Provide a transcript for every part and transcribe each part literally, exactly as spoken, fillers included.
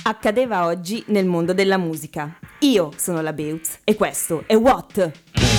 accadeva oggi nel mondo della musica. Io sono la Beutz e questo è What?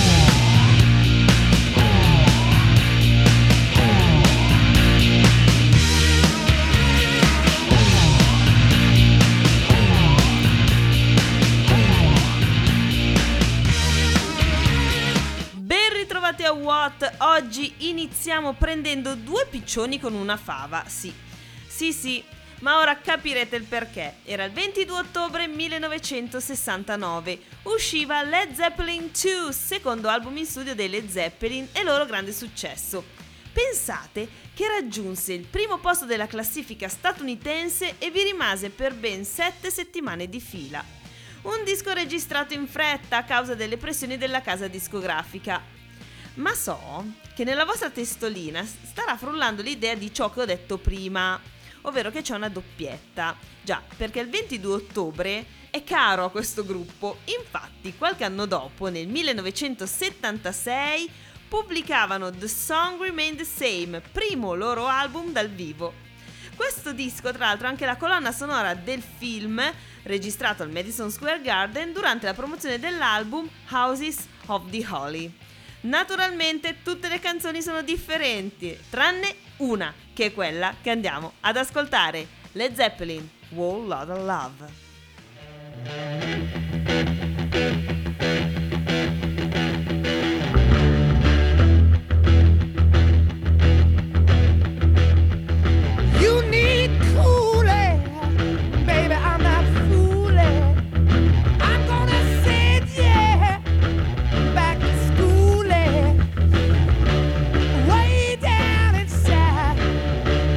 Ben ritrovati a What? Oggi iniziamo prendendo due piccioni con una fava, sì, sì sì. Ma ora capirete il perché. Era il ventidue ottobre millenovecentosessantanove. Usciva Led Zeppelin due, secondo album in studio dei Led Zeppelin e loro grande successo. Pensate che raggiunse il primo posto della classifica statunitense e vi rimase per ben sette settimane di fila. Un disco registrato in fretta a causa delle pressioni della casa discografica. Ma so che nella vostra testolina starà frullando l'idea di ciò che ho detto prima, ovvero che c'è una doppietta. Già, perché il ventidue ottobre è caro a questo gruppo. Infatti, qualche anno dopo, nel millenovecentosettantasei, pubblicavano The Song Remained the Same, primo loro album dal vivo. Questo disco, tra l'altro, è anche la colonna sonora del film registrato al Madison Square Garden durante la promozione dell'album Houses of the Holy. Naturalmente tutte le canzoni sono differenti, tranne una, che è quella che andiamo ad ascoltare, Led Zeppelin, Whole Lotta Love.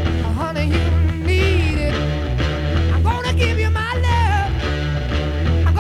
I'm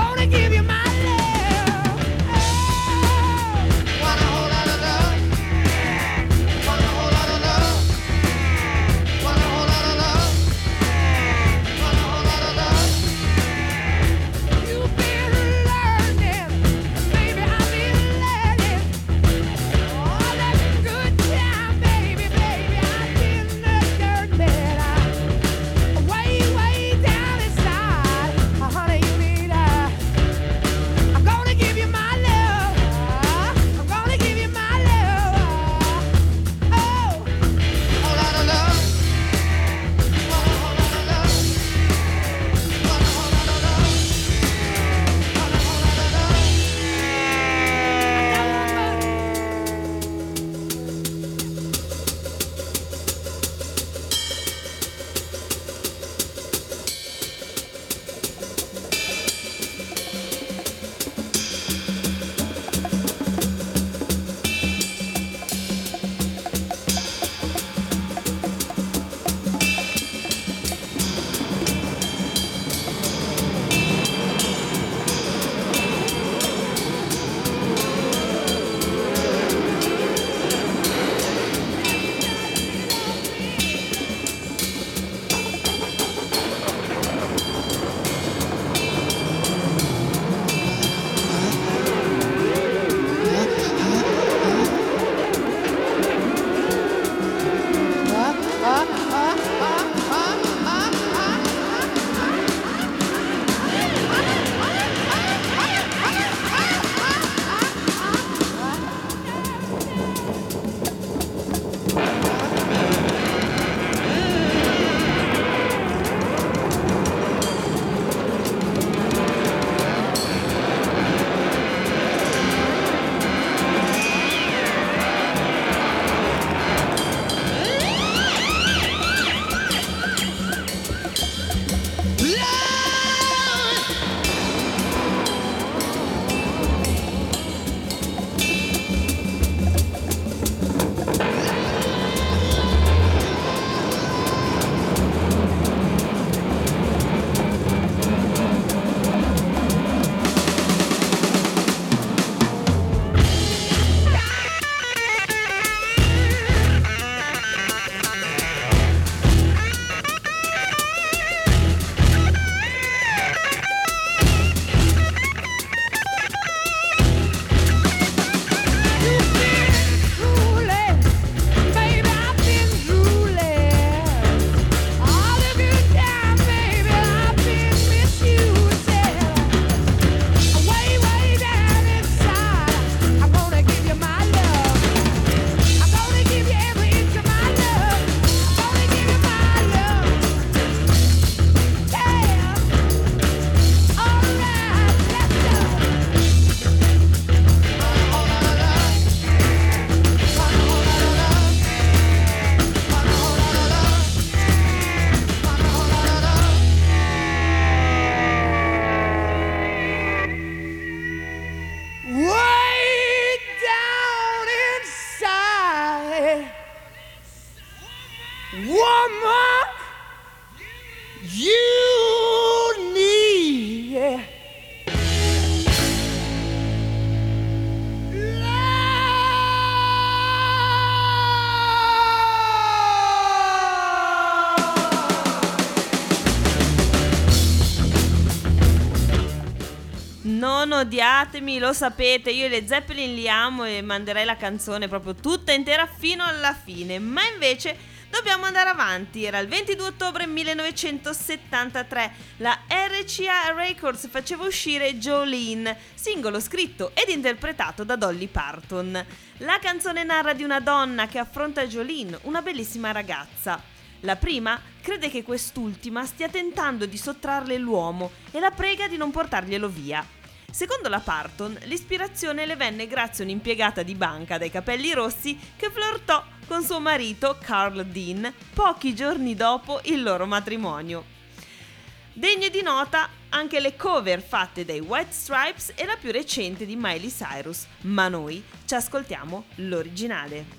non odiatemi, lo sapete, io le Zeppelin li amo e manderei la canzone proprio tutta intera fino alla fine, ma invece dobbiamo andare avanti. Era il ventidue ottobre millenovecentosettantatré, la R C A Records faceva uscire Jolene, singolo scritto ed interpretato da Dolly Parton. La canzone narra di una donna che affronta Jolene, una bellissima ragazza. La prima crede che quest'ultima stia tentando di sottrarle l'uomo e la prega di non portarglielo via. Secondo la Parton, l'ispirazione le venne grazie a un'impiegata di banca dai capelli rossi che flirtò con suo marito Carl Dean pochi giorni dopo il loro matrimonio. Degne di nota anche le cover fatte dai White Stripes e la più recente di Miley Cyrus, ma noi ci ascoltiamo l'originale.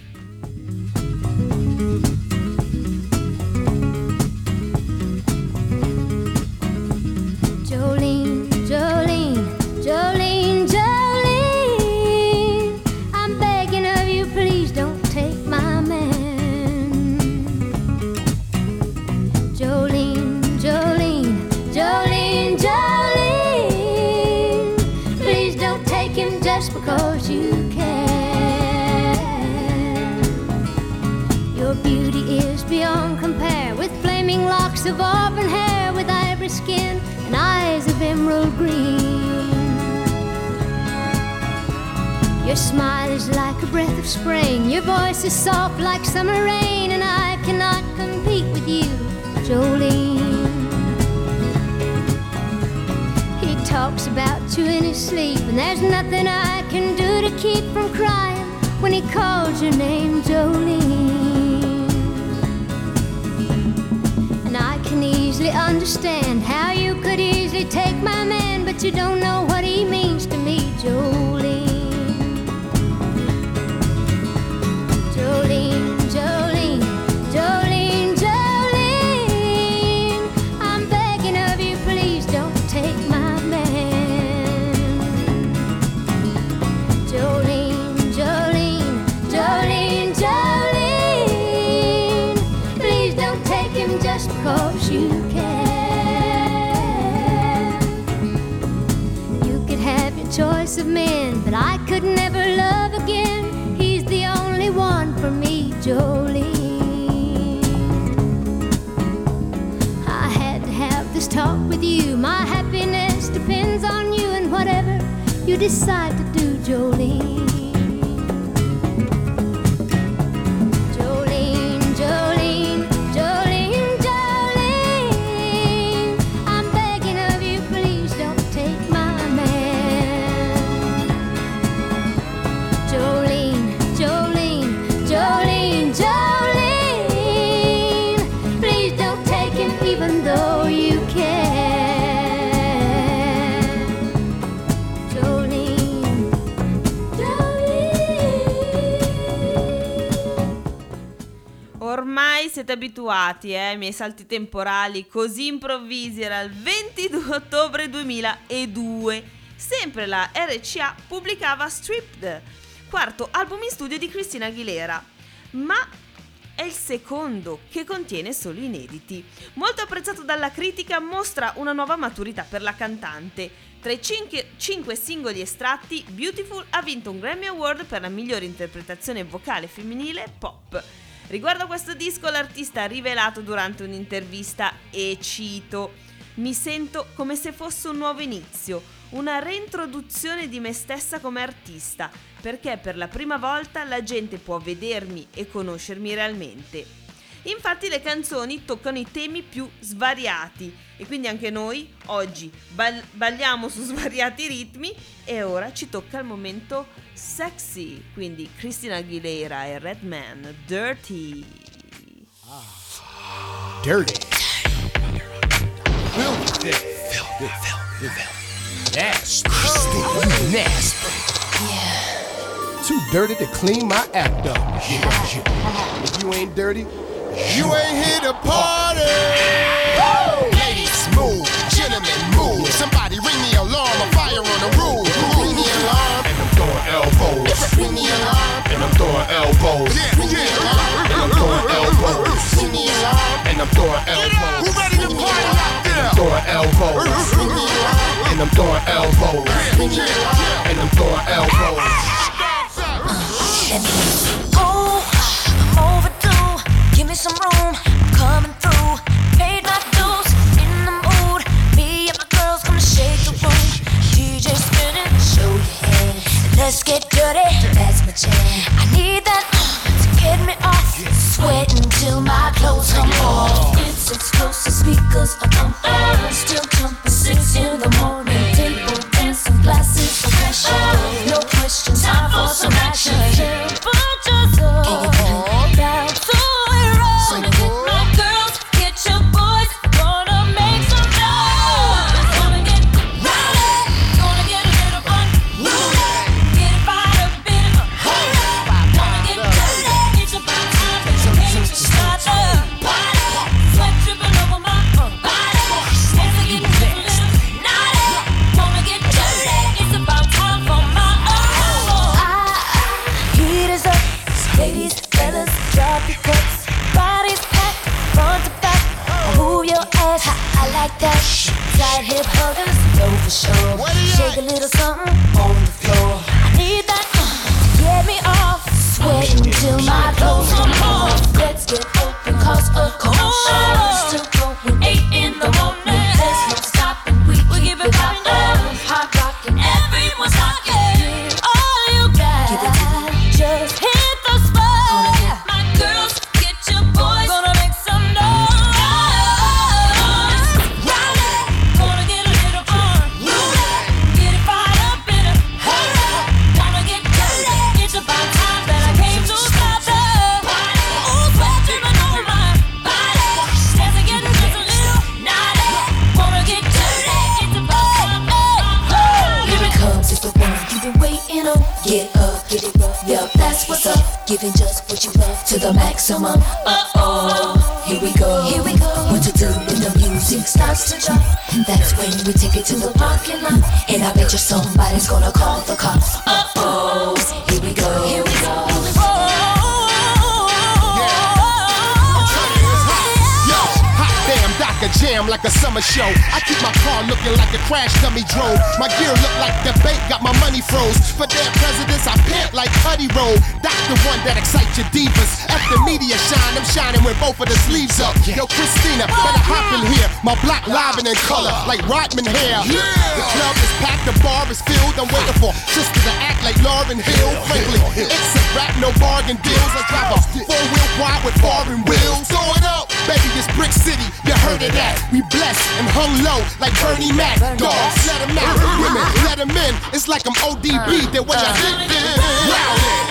Jolene, Jolene, Jolene, Jolene, I'm begging of you, please don't take my man. Jolene, Jolene, Jolene, Jolene, please don't take him just because you can. Your beauty is beyond compare, with flaming locks of auburn hair, with ivory skin and eyes of emerald green. Your smile is like a breath of spring, your voice is soft like summer rain, and I cannot compete with you, Jolene. He talks about you in his sleep, and there's nothing I can do to keep from crying when he calls your name, Jolene. I can easily understand how you could easily take my man, but you don't know what he means to me, Jolene. Jolene, Jolene, Jolene, Jolene, I'm begging of you, please don't take my man. Jolene, Jolene, Jolene, Jolene, please don't take him just because you can. You could have your choice of men, but I could never love again. He's the only one for me, Jolene. I had to have this talk with you. My happiness depends on you, and whatever you decide to do, Jolene. Ormai siete abituati eh, ai miei salti temporali così improvvisi. Era il ventidue ottobre duemiladue. Sempre la R C A pubblicava Stripped, quarto album in studio di Christina Aguilera, ma è il secondo che contiene solo inediti. Molto apprezzato dalla critica, mostra una nuova maturità per la cantante. Tra i cinque, cinque singoli estratti, Beautiful ha vinto un Grammy Award per la migliore interpretazione vocale femminile pop. Riguardo a questo disco, l'artista ha rivelato durante un'intervista, e cito: "Mi sento come se fosse un nuovo inizio, una reintroduzione di me stessa come artista, perché per la prima volta la gente può vedermi e conoscermi realmente." Infatti le canzoni toccano i temi più svariati e quindi anche noi oggi ball- balliamo su svariati ritmi, e ora ci tocca il momento sexy, quindi Christina Aguilera e Redman, Dirty. Dirty. Filthy. Filthy. Filthy. Nasty. Oh, nasty. Yeah. Too dirty to clean my act up. Yeah. If you ain't dirty, you ain't here to party. Woo! Ladies, move. Gentlemen, move. Somebody ring the alarm. A fire on the roof. Ring the alarm. And I'm throwing elbows. Ring the alarm. And I'm throwing elbows. Ring the alarm. And I'm throwing elbows. Ring the alarm. And I'm throwing elbows. Who ready to party out there? And I'm throwing elbows. Ring the alarm. And and I'm throwing elbows, and I'm throwing elbows. Oh, I'm overdue. Give me some room, I'm coming through. Paid my dues, in the mood. Me and my girls gonna shake the room. D J spinning, show your hand. Let's get dirty, that's my jam. I need that uh, to get me off. Sweating till my clothes come off. It's explosive, speakers are pumping. Still jumping, six in the morning. Table dancing, glasses of passion. No question, time for some action. Put yourself down to it roll. My girls, get your boys, gonna make some noise. Gonna get rowdy, gonna get a little fun. Get it fired up, bit of a gonna get dirty. It's about time that you came to start the party. Sweat dripping over my body. Hands are getting a little naughty. Wanna get dirty. It's about time for my own. Heat is up, ladies, fellas, drop your cups. Bodies packed, front to back. Move your ass, I, I like that. Tight hip huggers, know for sure. Shake a little something on the floor. I need that uh, to get me off. Sweating till my clothes come off. Let's get open, cause a commotion. Still going eight in the morning. There's no stopping, we, we give it poppin'. Hot rockin', everyone's rockin'. All you got, give it to me. Just hit the spot. My girls, get your boys, gonna make some noise. Rowdy, gonna get a little fun. Get it fired up in a hurry. Wanna get dirty. It's about time that I came to start the party. Ooh, sweat dripping over my body. Dancing, getting just a little naughty. Wanna get dirty. It's about time. Hey, here it comes, it's the one you've been waiting on. Get up, get it rough, yup, that's what's up. Giving just what you love to the maximum. Uh-oh, here we go, here we go. What to do when the music starts to drop? That's when we take it to the parking lot. And I bet you somebody's gonna call the cops. Uh-oh, here we go, here we go. Yo, hot damn, Docker jam like a summer show. I keep my car looking like a crash dummy drove. My gear look like the bank got my money froze. For their presidents, I pimp like Putty Roll. That's the one that excites your divas. At the media shine, I'm shining with both of the sleeves up. Yo, Christina, better hop in here. My block live and in color, like Rodman hair. The club is packed, the bar is filled. I'm waiting for sisters to act like Lauryn Hill. Frankly, it's a rap, no bargain deals. I drive a four-wheel quad with foreign wheels. Throw it up, baby, it's Brick City. You heard of that? We blessed and hung low like Bernie Mac. Dogs, let them out. Women, let them in. It's like I'm O D B. That what y'all think? Rowdy.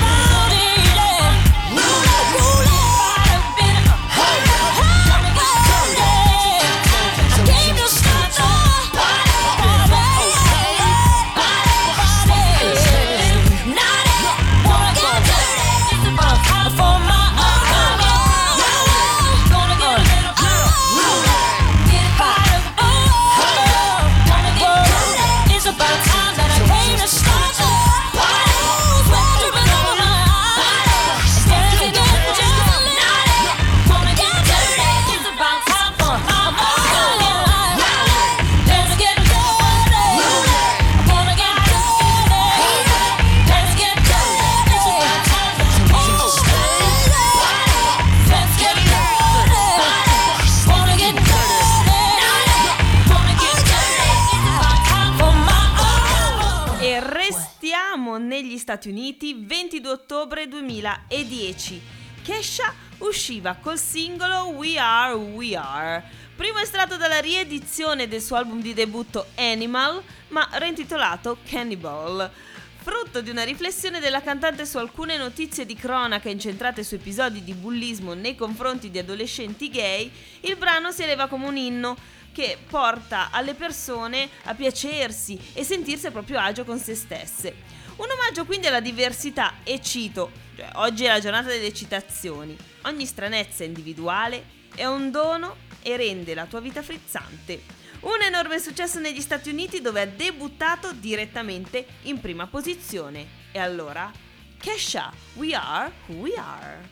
Negli Stati Uniti, ventidue ottobre duemiladieci. Kesha usciva col singolo We Are Who We Are, primo estratto dalla riedizione del suo album di debutto Animal, ma reintitolato Cannibal. Frutto di una riflessione della cantante su alcune notizie di cronaca incentrate su episodi di bullismo nei confronti di adolescenti gay, il brano si eleva come un inno che porta alle persone a piacersi e sentirsi a proprio agio con se stesse. Un omaggio quindi alla diversità e cito, cioè, oggi è la giornata delle citazioni, ogni stranezza individuale è un dono e rende la tua vita frizzante. Un enorme successo negli Stati Uniti dove ha debuttato direttamente in prima posizione. E allora, Kesha, We Are Who We Are.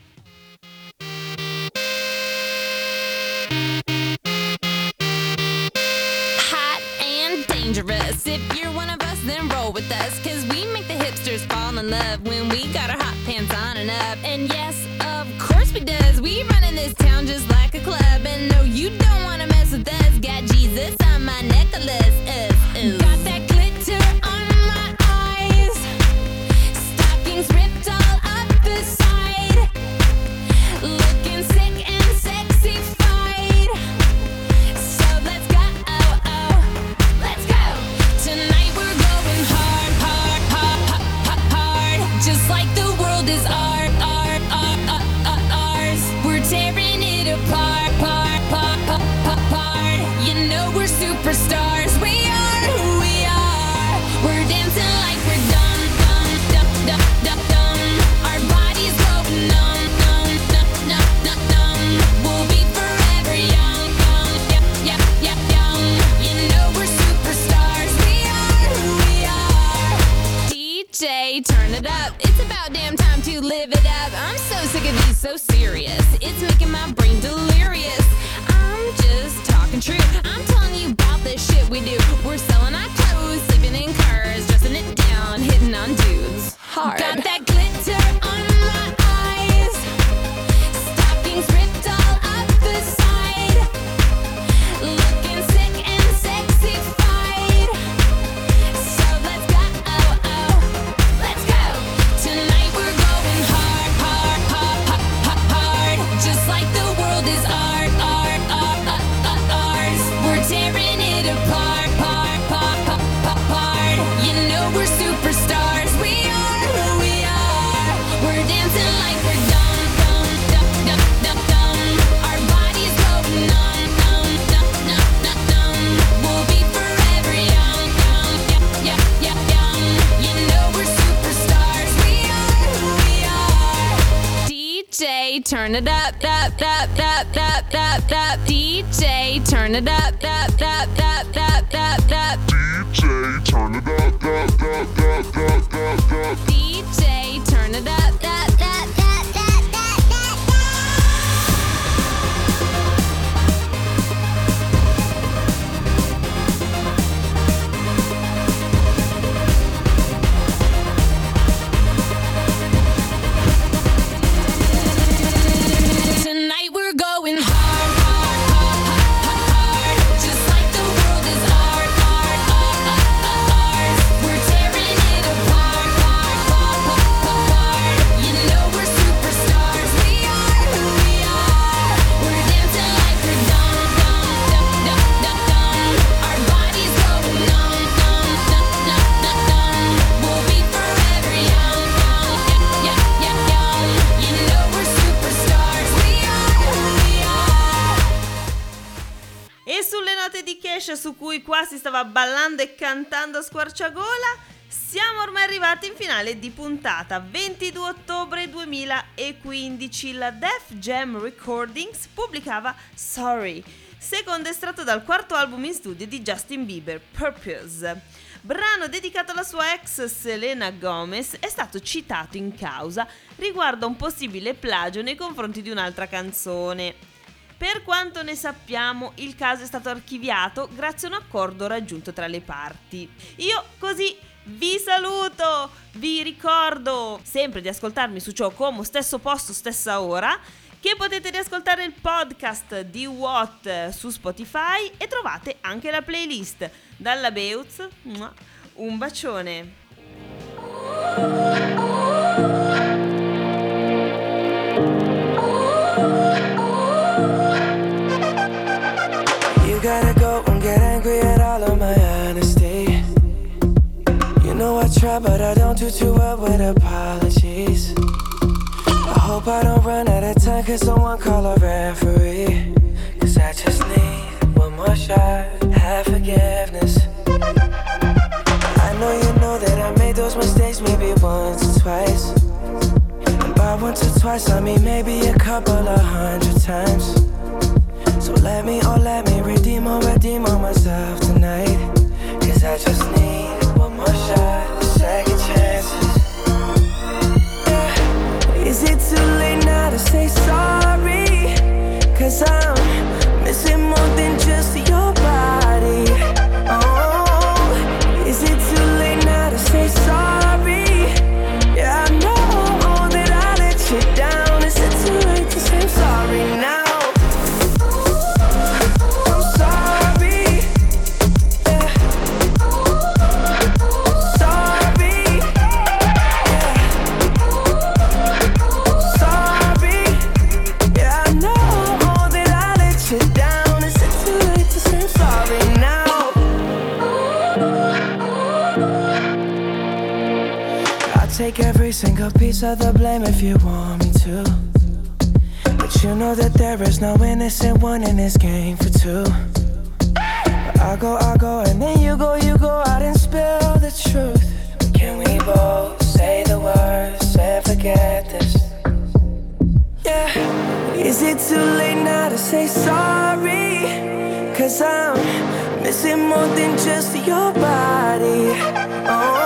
Hot and dangerous. if you're one of us, then roll with us, cause we make the hipsters fall in love when we got our hot pants on and up. And yes, of course we does. We run in this town just like a club. And no, you don't wanna mess with us. Got Jesus on my necklace. Uh, uh. Got that glitter on my eyes. Stockings ripped all up the side. Looking sick and sexy-fied. So let's go, oh, oh, let's go. Tonight we're going hard, hard, hard, hard, hard. Just like the world is art, art, art, art, art, ours. We're tearing it apart, part, part, part, part, part. You know we're superstars. We are who we are. We're dancing like we're dumb, dumb, dumb, dumb, dumb, dumb. Our bodies go numb, numb, numb, numb, numb, numb. We'll be forever young, young, yeah, yeah, yeah, young. You know we're superstars. We are who we are. D J, turn it up. It's about damn time to live it up. I'm so sick of these so serious. It's making my brain delirious. I'm just talking true. I'm telling you about the shit we do. We're selling our clothes, sleeping in cars, dressing it down, hitting on dudes. Hard. Got that glitter on my eyes. Stockings ripped all up the side. Looking sick and sexy-fied. So let's go, oh, oh, let's go. Tonight we're going hard, hard, hard, hard, hard, hard. Just like the world is art, art, art, art, art, ours. We're tearing it apart, part, part, part, part, part. You know we're superstars. We are who we are. We're dancing like we're dumb, dumb, dumb, dumb, dumb, dumb. Our bodies go numb, numb, numb, numb, numb, numb. We'll be forever young, young, yeah, yeah, yeah, young. You know we're superstars. We are who we are. D J, turn it up, up, up, up, up, up, up. D J, turn it up, up, up, up, up, up, up. D J, turn it up, up, up, up, up, up, up. D J, turn it up, up, up, up, up, up, up. Tonight we're going hard, hard, hard, hard, hard. Just like the world is art, art, art, art, art, ours. We're tearing it apart, part, part, part, part, part. You know we're superstars. We are who we are. We're dancing like we're dumb, dumb, dumb, dumb, dumb, dumb. Our bodies go numb, numb, numb, numb, numb, numb. We'll be forever young, young, yeah, yeah, yeah, young. You know we're superstars. We are who we are. E sulle note di Cash, su cui qua si stava ballando e cantando a squarciagola, siamo ormai arrivati in finale di puntata. Ventidue ottobre duemilaquindici la Def Jam Recordings pubblicava Sorry, secondo estratto dal quarto album in studio di Justin Bieber, Purpose. Brano dedicato alla sua ex Selena Gomez, è stato citato in causa riguardo a un possibile plagio nei confronti di un'altra canzone. Per quanto ne sappiamo, il caso è stato archiviato grazie a un accordo raggiunto tra le parti. Io così vi saluto, vi ricordo sempre di ascoltarmi su Ciao Como, stesso posto, stessa ora, che potete riascoltare il podcast di What su Spotify e trovate anche la playlist. Dalla Beuz, un bacione. You gotta go and get angry at all of my honesty. You know I try, but I don't do too well with apologies. I hope I don't run out of time, cause someone call a referee. Cause I just need one more shot, have forgiveness. I know you know that I made those mistakes maybe once or twice. And by once or twice I mean maybe a couple of hundred times. So let me, oh let me redeem or redeem on myself tonight. Cause I just need one more shot, second chances. Yeah. Is it too late now to say sorry? Cause I'm missing more than just your body. Oh, take every single piece of the blame if you want me to. But you know that there is no innocent one in this game for two. But I go, I go, and then you go, you go out and spill the truth. But can we both say the words and forget this? Yeah. Is it too late now to say sorry? Cause I'm missing more than just your body. Oh,